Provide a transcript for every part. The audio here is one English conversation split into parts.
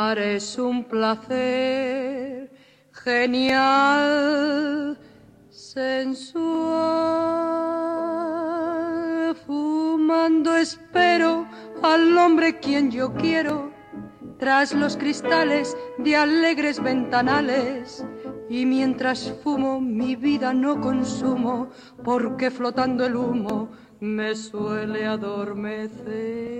Fumar es un placer genial, sensual. Fumando espero al hombre quien yo quiero, tras los cristales de alegres ventanales. Y mientras fumo mi vida no consumo, porque flotando el humo me suele adormecer.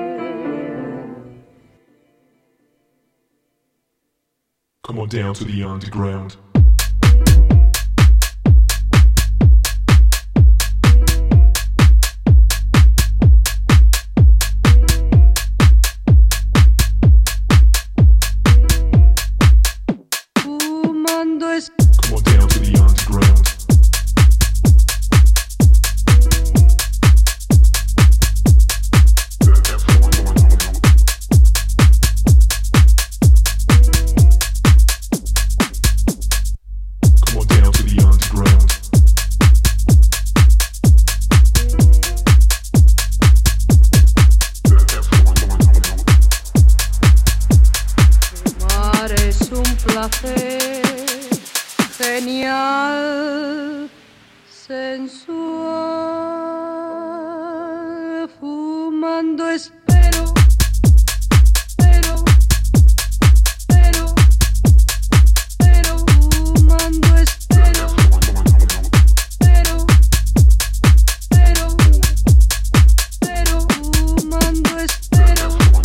Come on down to the underground. Fumando es... Come on down to the underground. Genial, sensual, fumando espero, fumando espero, fumando espero.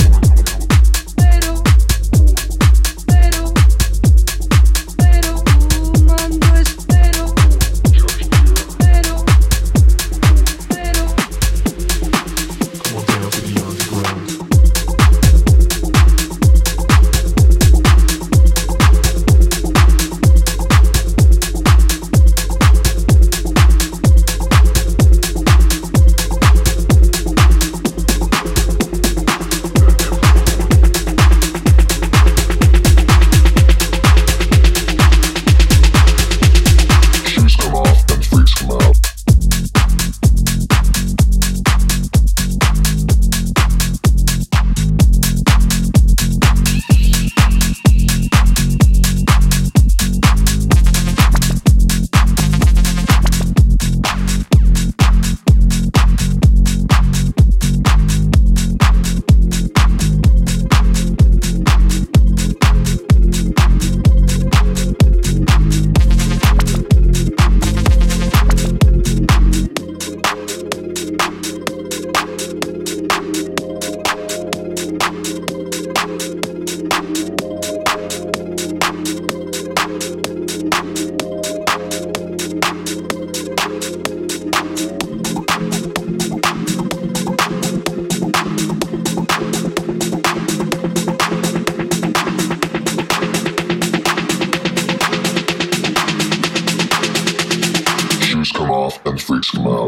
Come off and freaks come out.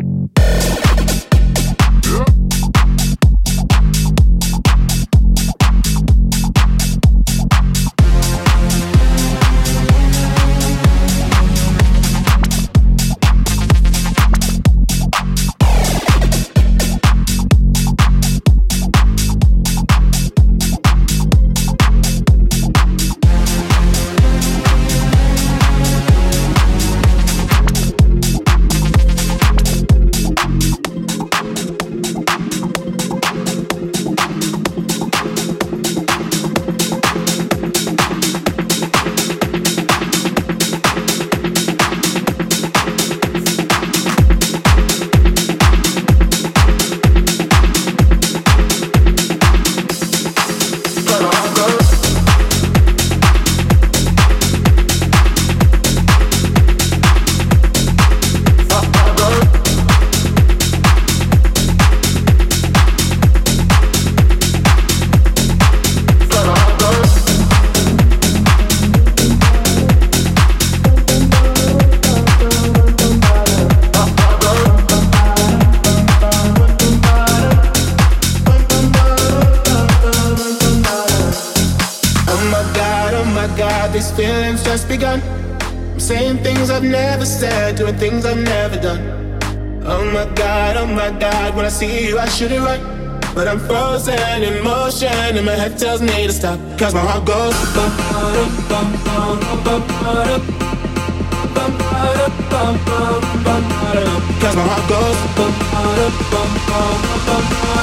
These feelings just begun. I'm saying things I've never said, doing things I've never done. Oh my God, when I see you I shoot it right. but I'm frozen in motion and my head tells me to stop. Cause my heart goes bum, bum, bum, bum, bum, bum, bum, bum, bum, bum, cause my heart goes bum, bum, bum, bum, bum,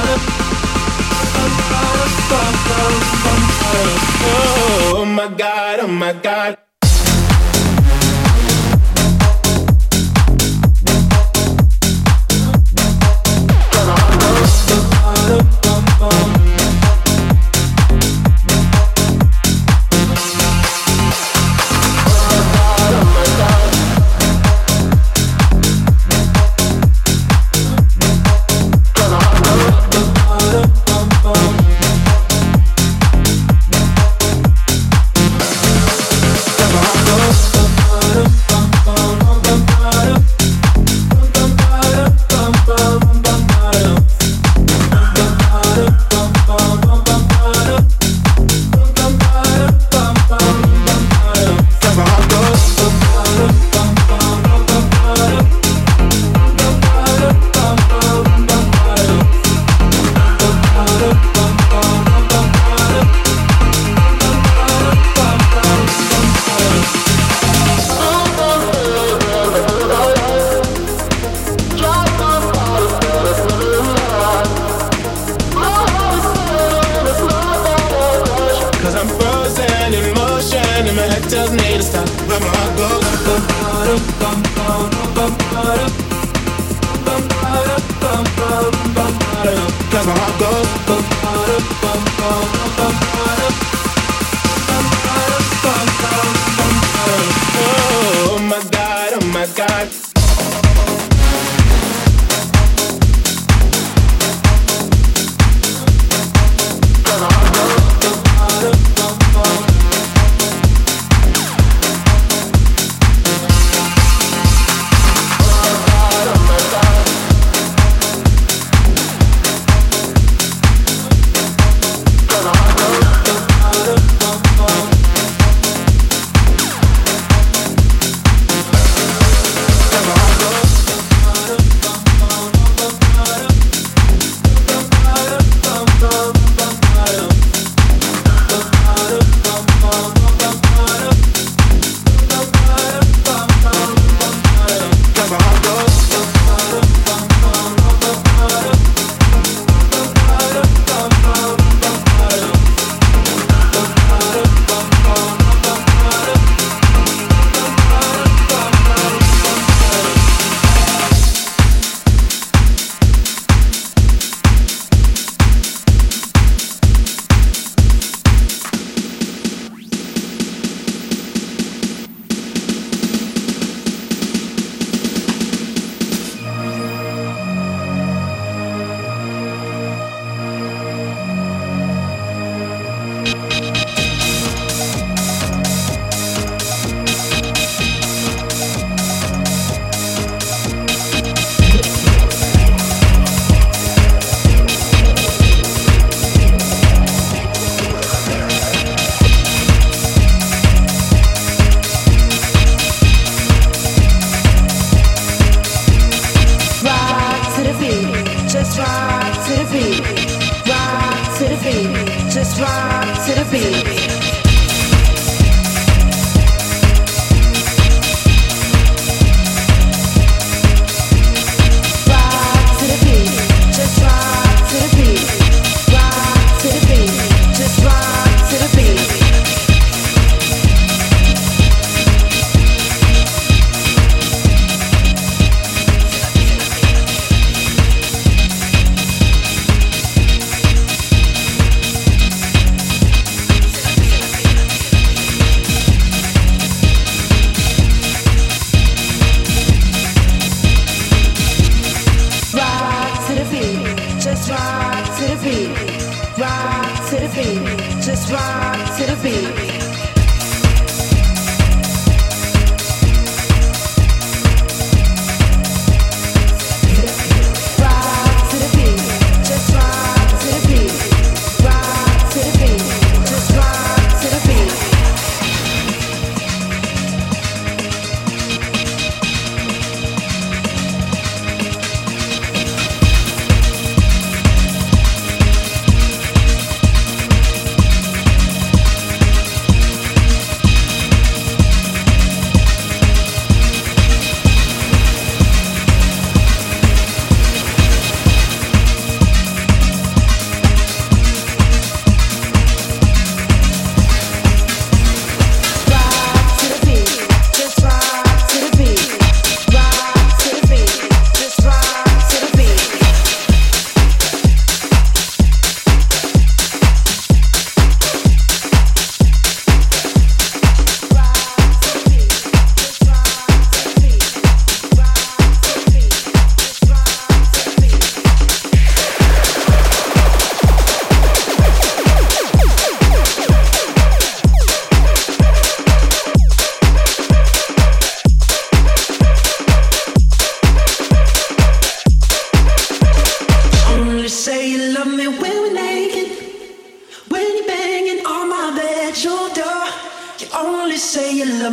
oh my God, oh my God.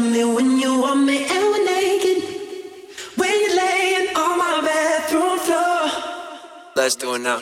love me when you want me and we're naked. When you're laying on my bathroom floor. Let's do it now.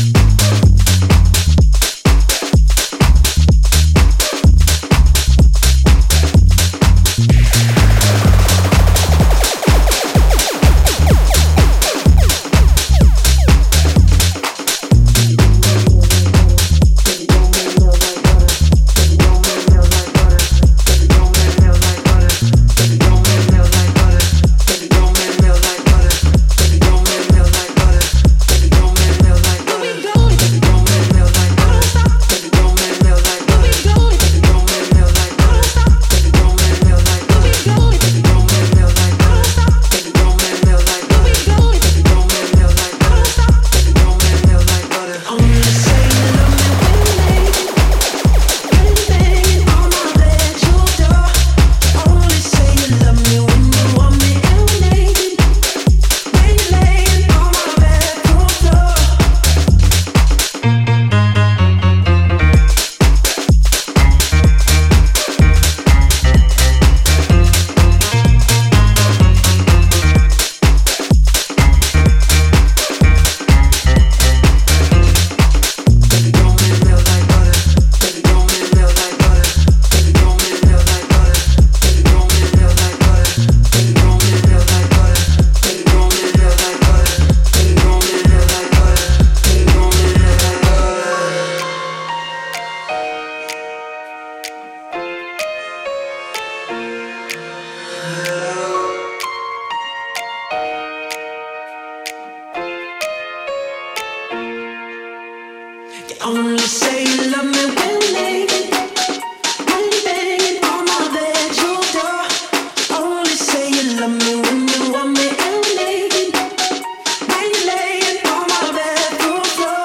Only say you love me when we're naked. When you're banging on my bedroom door. Only say you love me when you want me and we're naked. When you're laying on my bedroom floor.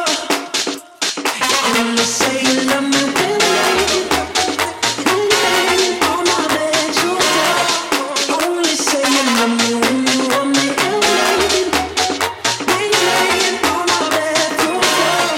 Only say you love me when we're naked. When you're banging on my bedroom door. Only say you love me when you want me and we're naked. When you're laying on my bedroom floor.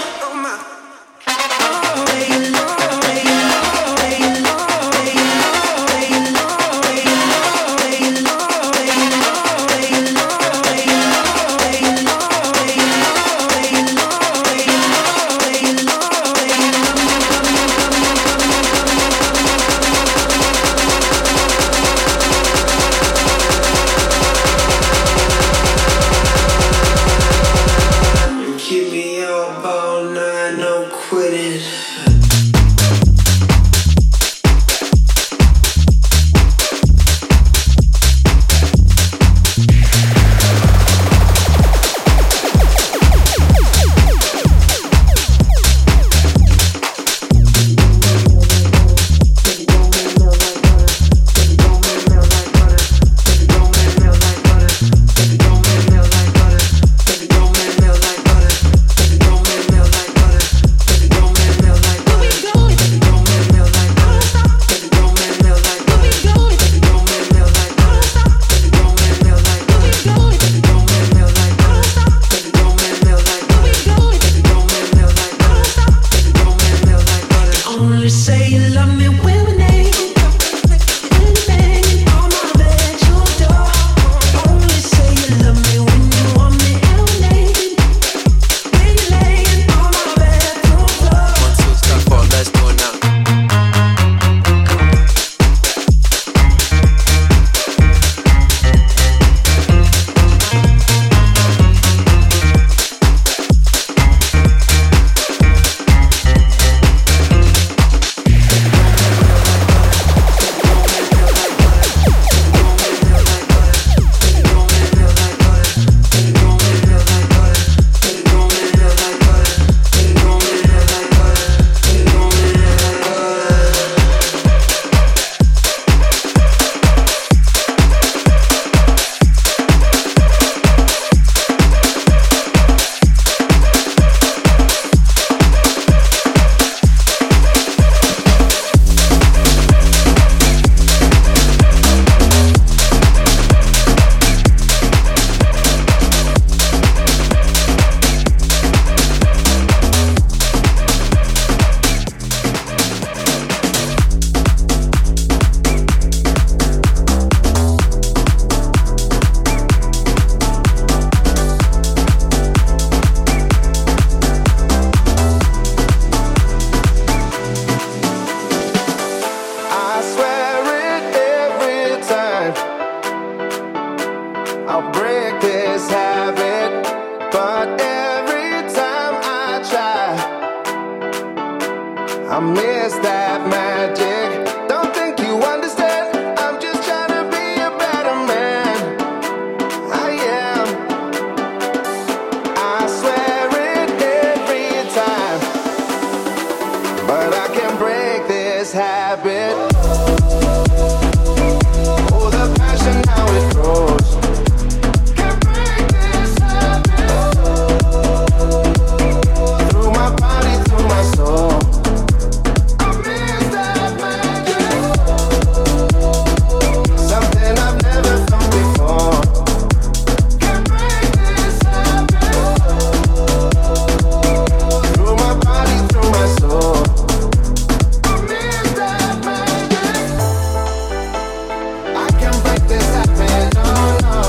I'll break this habit, but every time I try, I miss that magic. Don't think you understand, I'm just trying to be a better man. I am, I swear it every time, but I can't break this habit. Oh, the passion, how it grows. Can't break this habit. Through my body, through my soul. I miss that magic. Something I've never felt before. Can't break this habit. Through my body, through my soul. I miss that magic. I can't break this habit, no, no.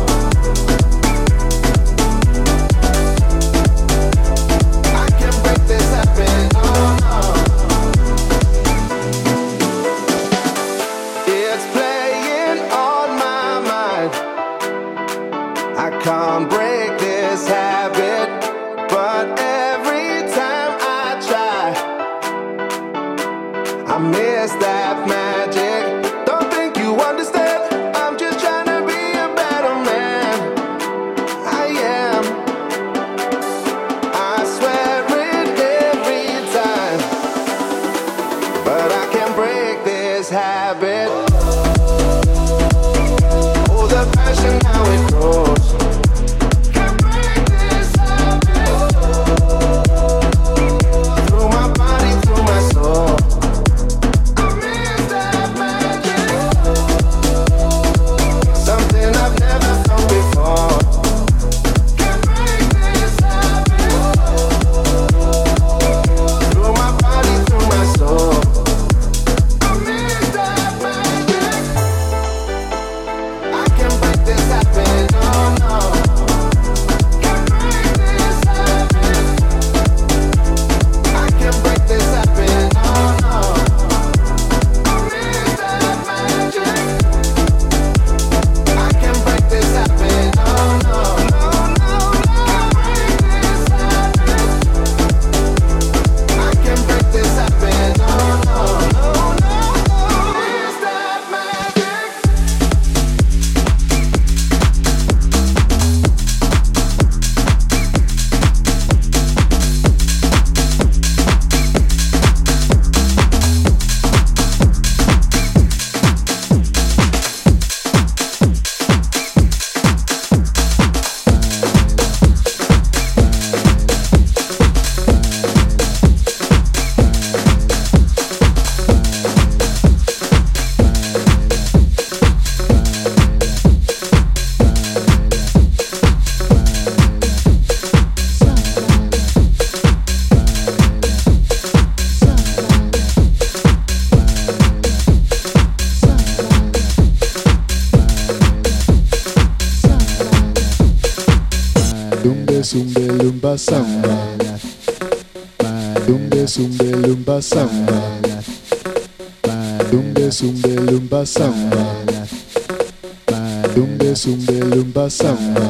I can't break this habit, no, no. It's playing on my mind. I can't break this habit, but every time I try, I miss that magic. Don't think you understand, I'm just trying to be a better man. I am, I swear it every time, but I can't break this habit. Oh, the passion, how it grows. Can't break this habit. Through my body, through my soul. I miss that magic. Something I've never felt before. Can't break this habit. Through my body, through my soul. I miss that magic. I can't break this habit, no, no. Can't break this habit. I can't break this habit, no, no. I miss that magic. I can't break this habit, no, no, no, no, no. I can't break this habit, no, no, no, no. Miss that magic. Dumbe zumbe lumba samba. Dumbe zumbe lumba samba. Dumbe zumbe lumba samba. Dumbe zumbe lumba samba.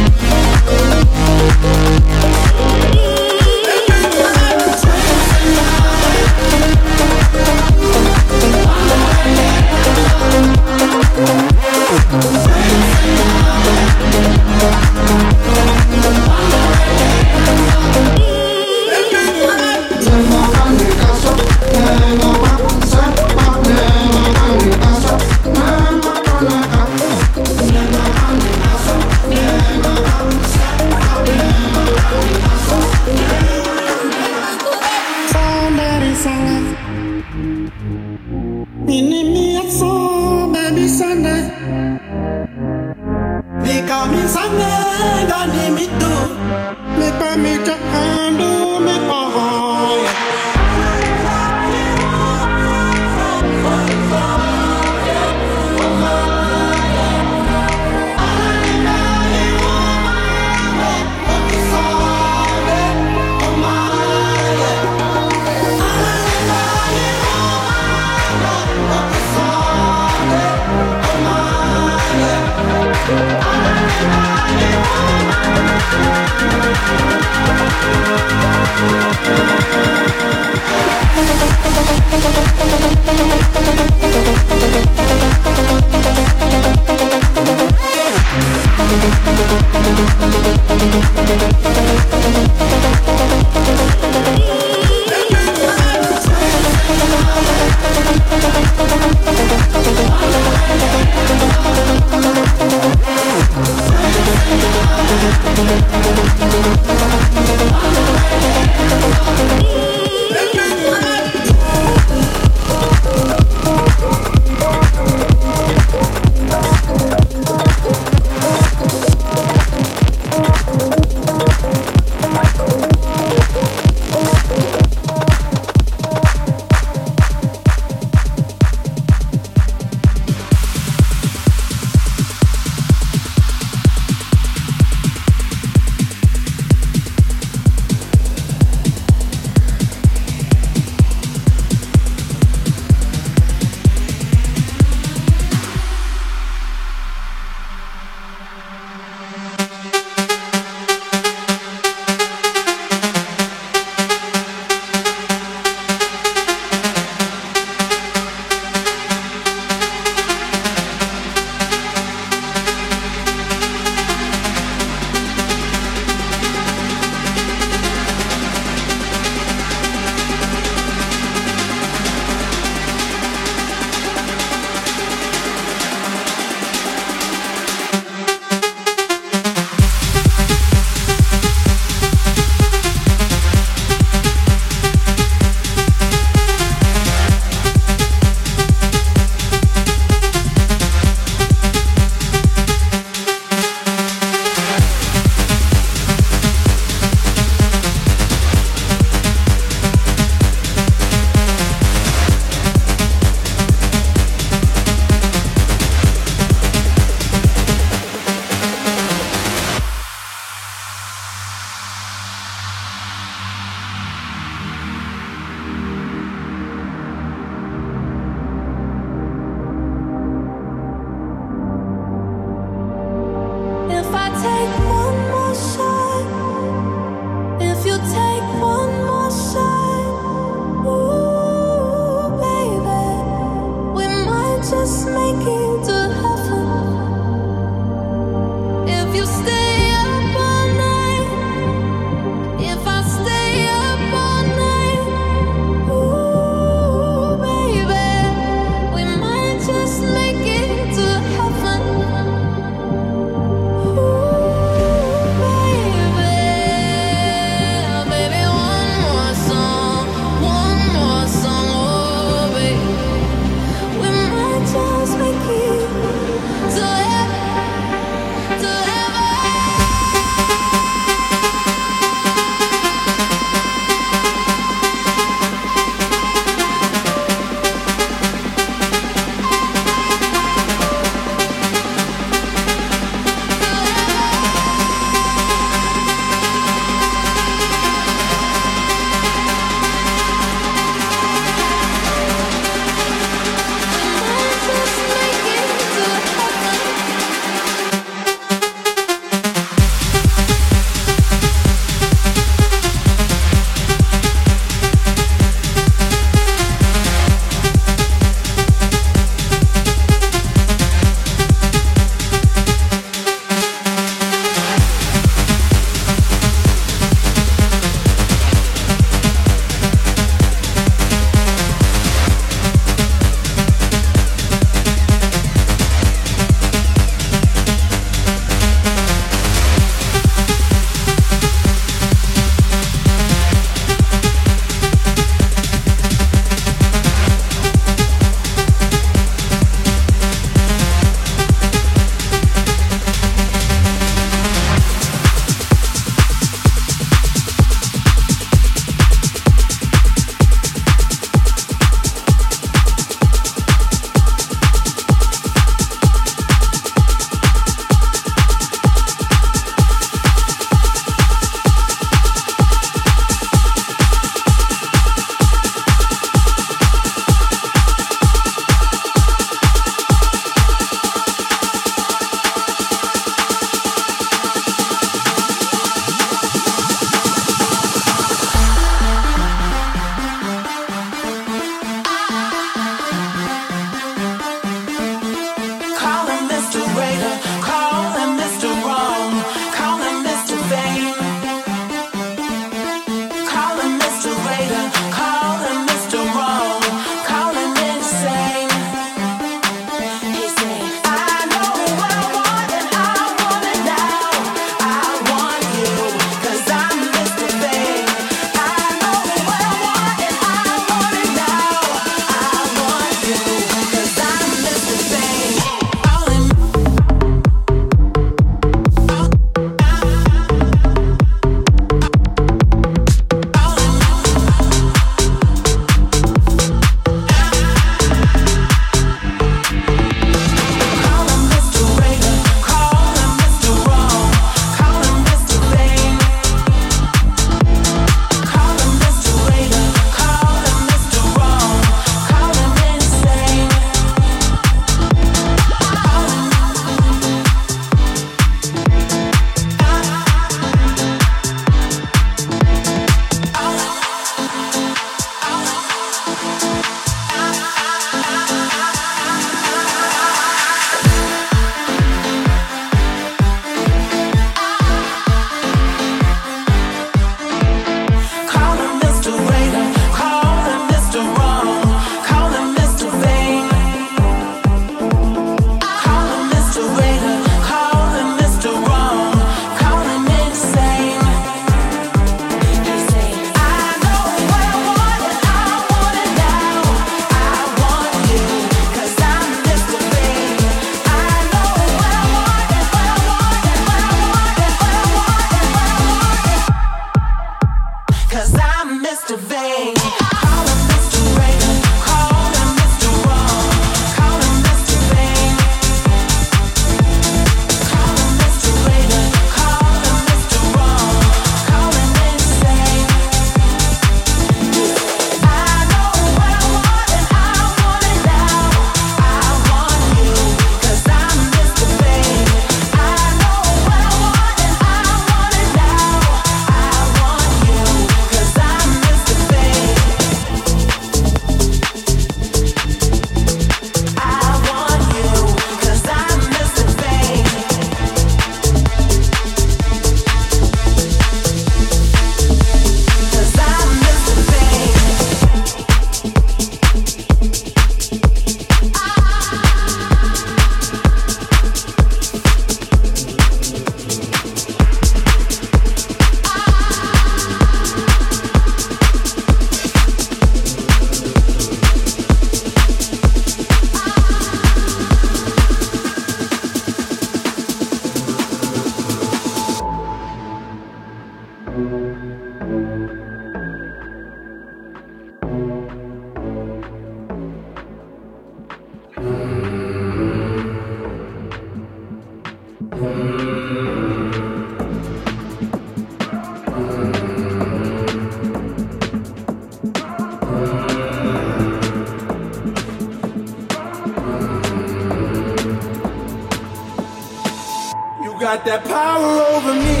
got that power over me.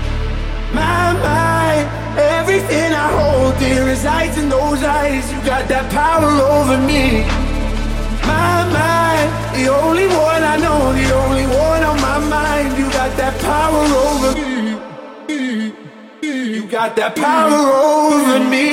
My, everything I hold dear resides in those eyes. You got that power over me. My, the only one I know, the only one on my mind. You got that power over me. You got that power over me.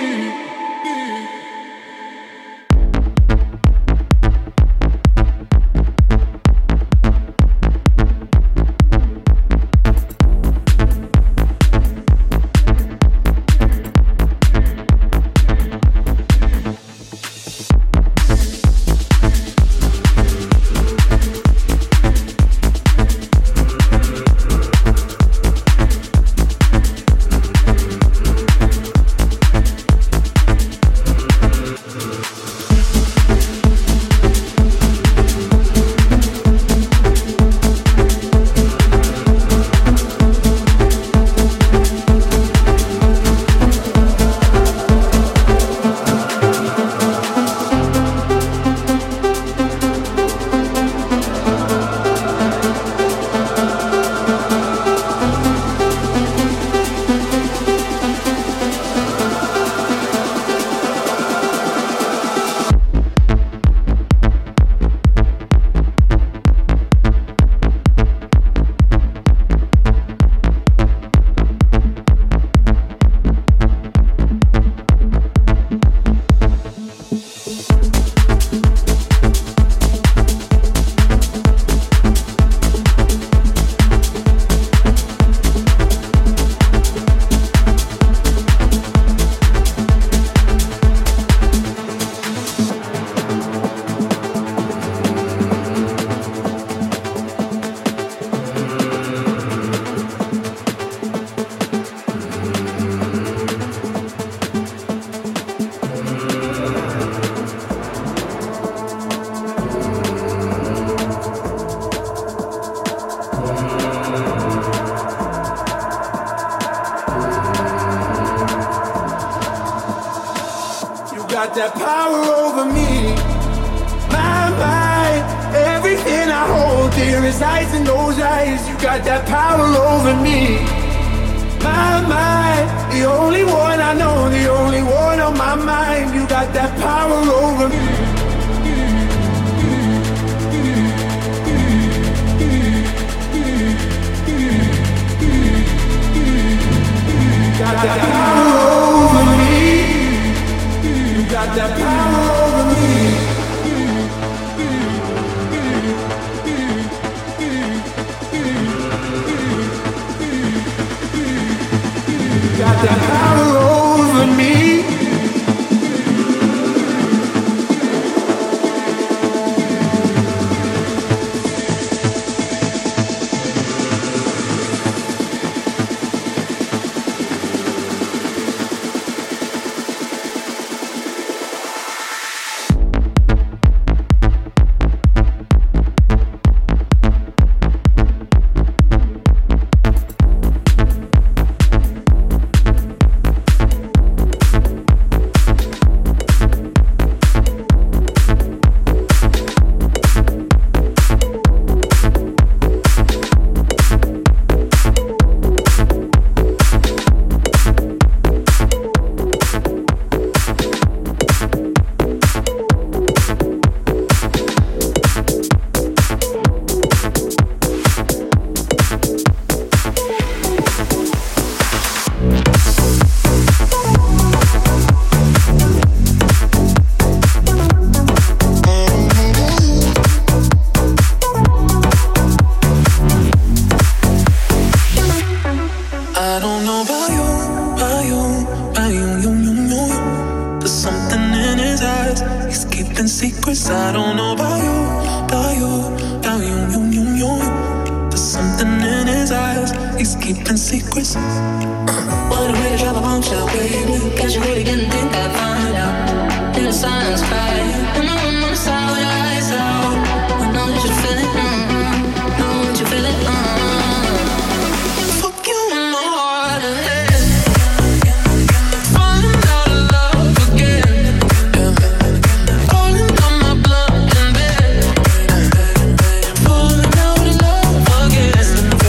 Got that power over me. My, everything I hold dear resides in those eyes. You got that power over me. My, the only one I know, the only one on my mind. You got that power over me. Got that power over me. Got that power over me. Got that power over me. secrets I don't know about you, about you, about you. There's something in his eyes, he's keeping secrets. What a way to drop a bombshell, baby. Guess you really didn't think I'd find out. In the silence, cry. And I'm on the side with the eyes out. I know that you feel it, know that you feel it, Fuck you in my heart and head. Falling out of love again. Falling on my blood and bed. Falling out of love again.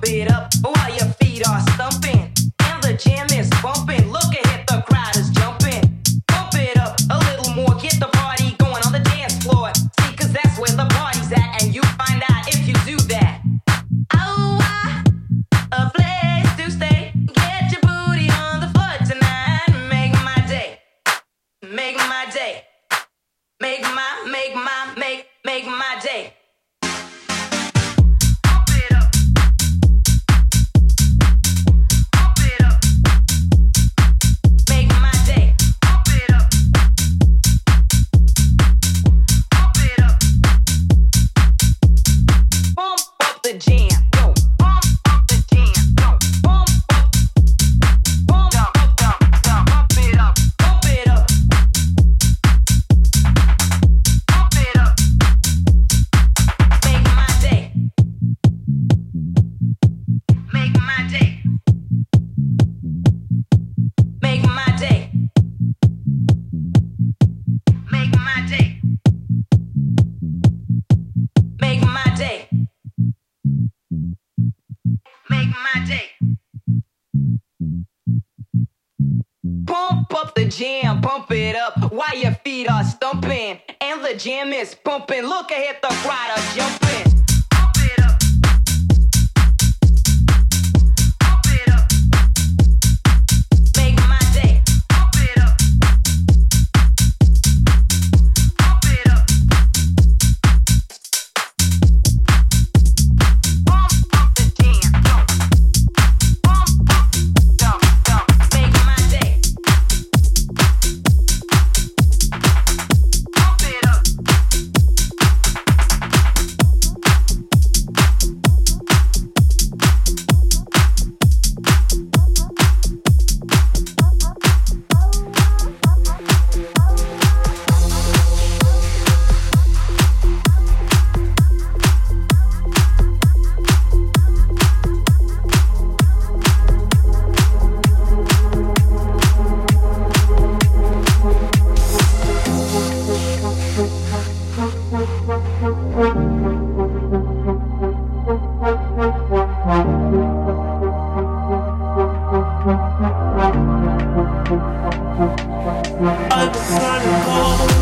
it up while your feet are stumping. And the jam is bumping. Look ahead, the crowd is jumping. Pump it up a little more. Get the party going on the dance floor. See, cause that's where the party's at. And you find out if you do that. Oh, a place to stay. Get your booty on the floor tonight. Make my day. Make my day. Make my day. Jam, pump it up while your feet are stumping. And the jam is pumping. Look ahead, the crowd are jumping. Pump it up. Pump it up. Make my day. Pump it up. Pump it up. Pump up the jam. Pump up, dump, dump. Make my day. Pump it up. I've been running cold.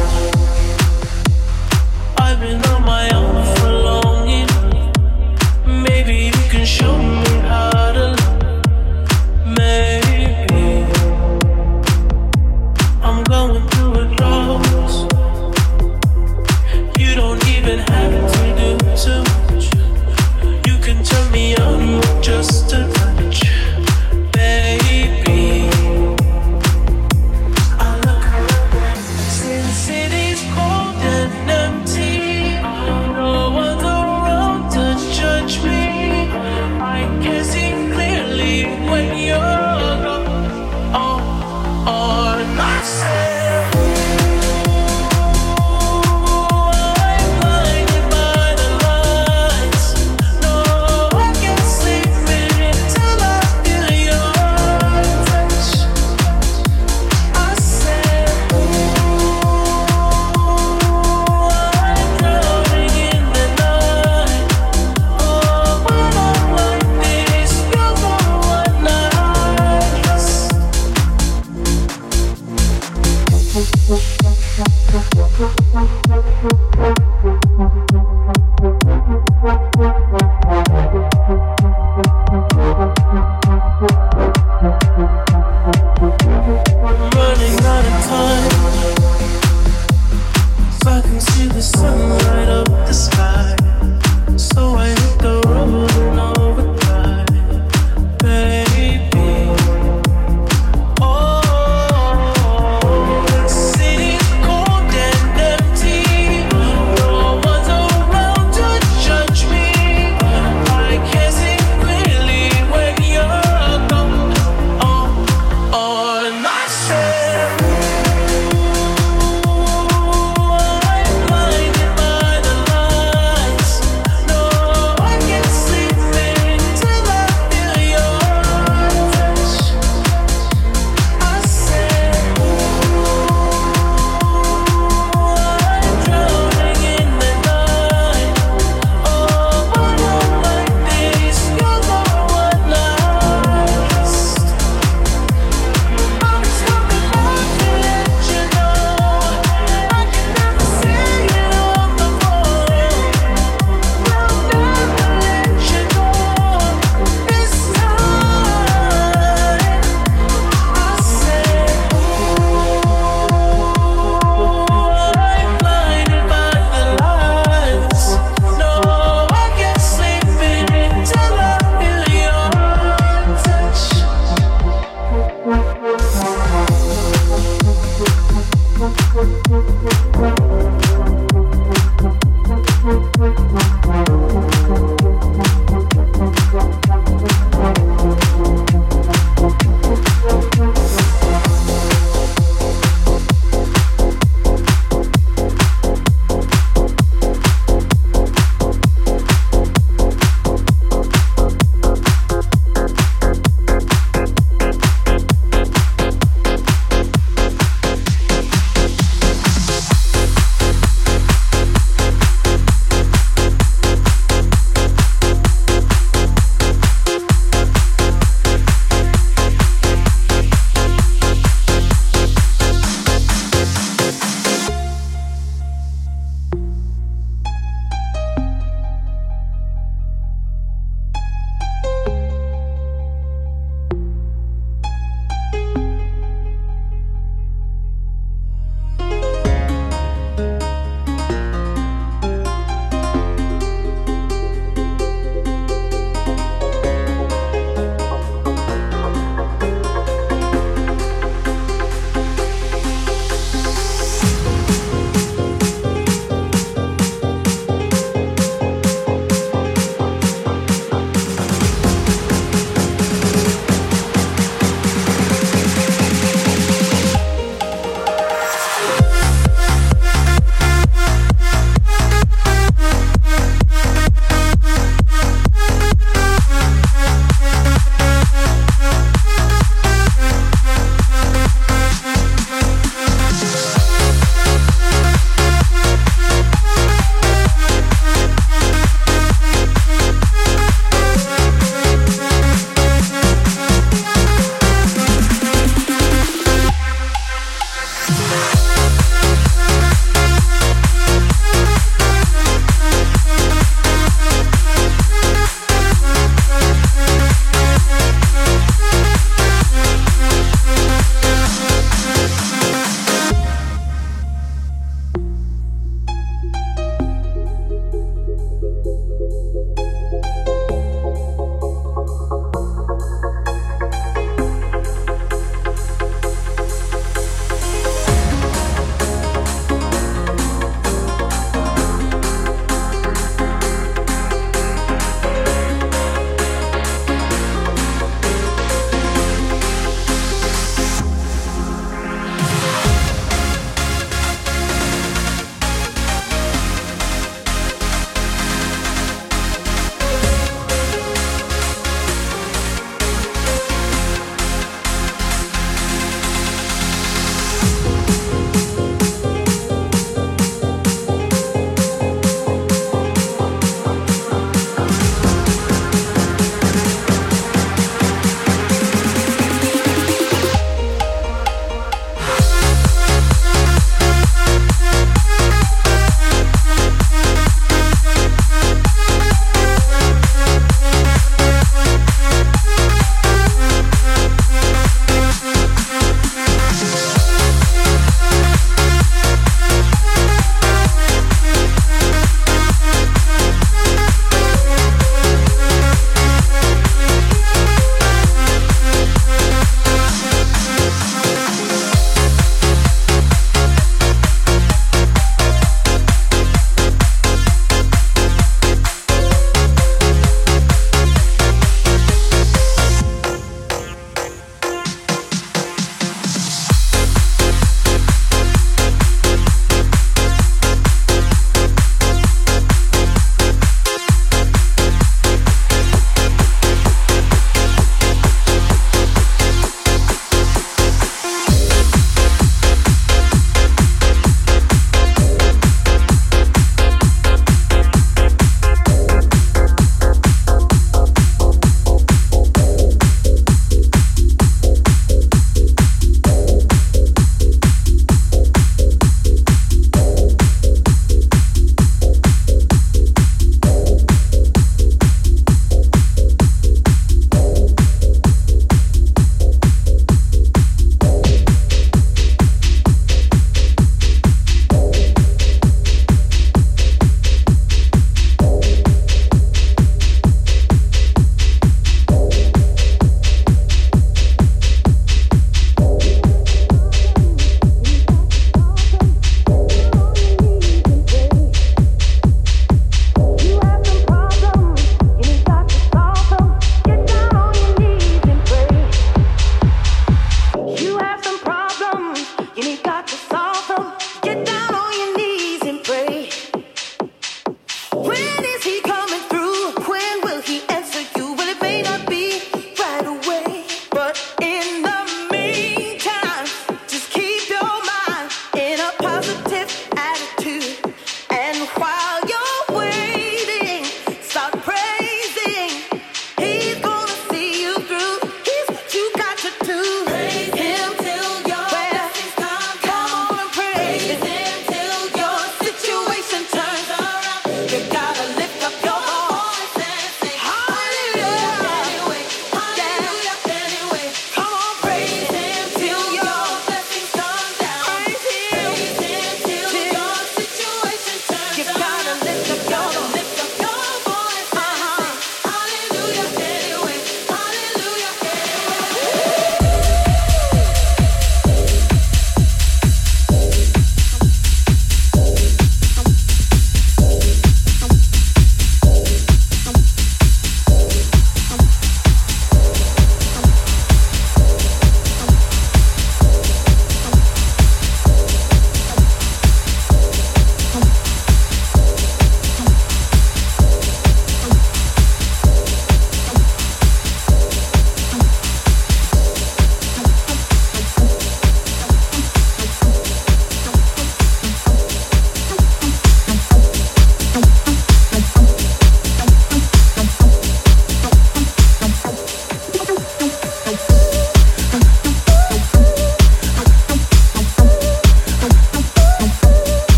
I've been on my own for longing. Maybe you can show me how to love. Maybe I'm going through a drought. You don't even have to do too much. You can turn me on with just a touch, baby. City's cold and empty. No one's around to judge me. I can see clearly when you're gone. On myself. I'm blinded by the lights. No, I can't sleep until I feel your touch. I said, I'm drowning in the night. Oh, when I'm like this, you're the one I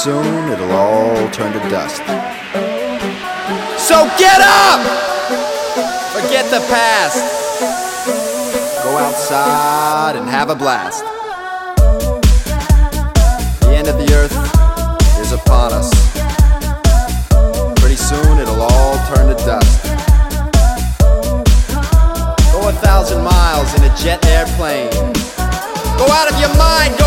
soon it'll all turn to dust. So get up! Forget the past. Go outside and have a blast. The end of the earth is upon us. Pretty soon it'll all turn to dust. Go 1,000 miles in a jet airplane. Go out of your mind.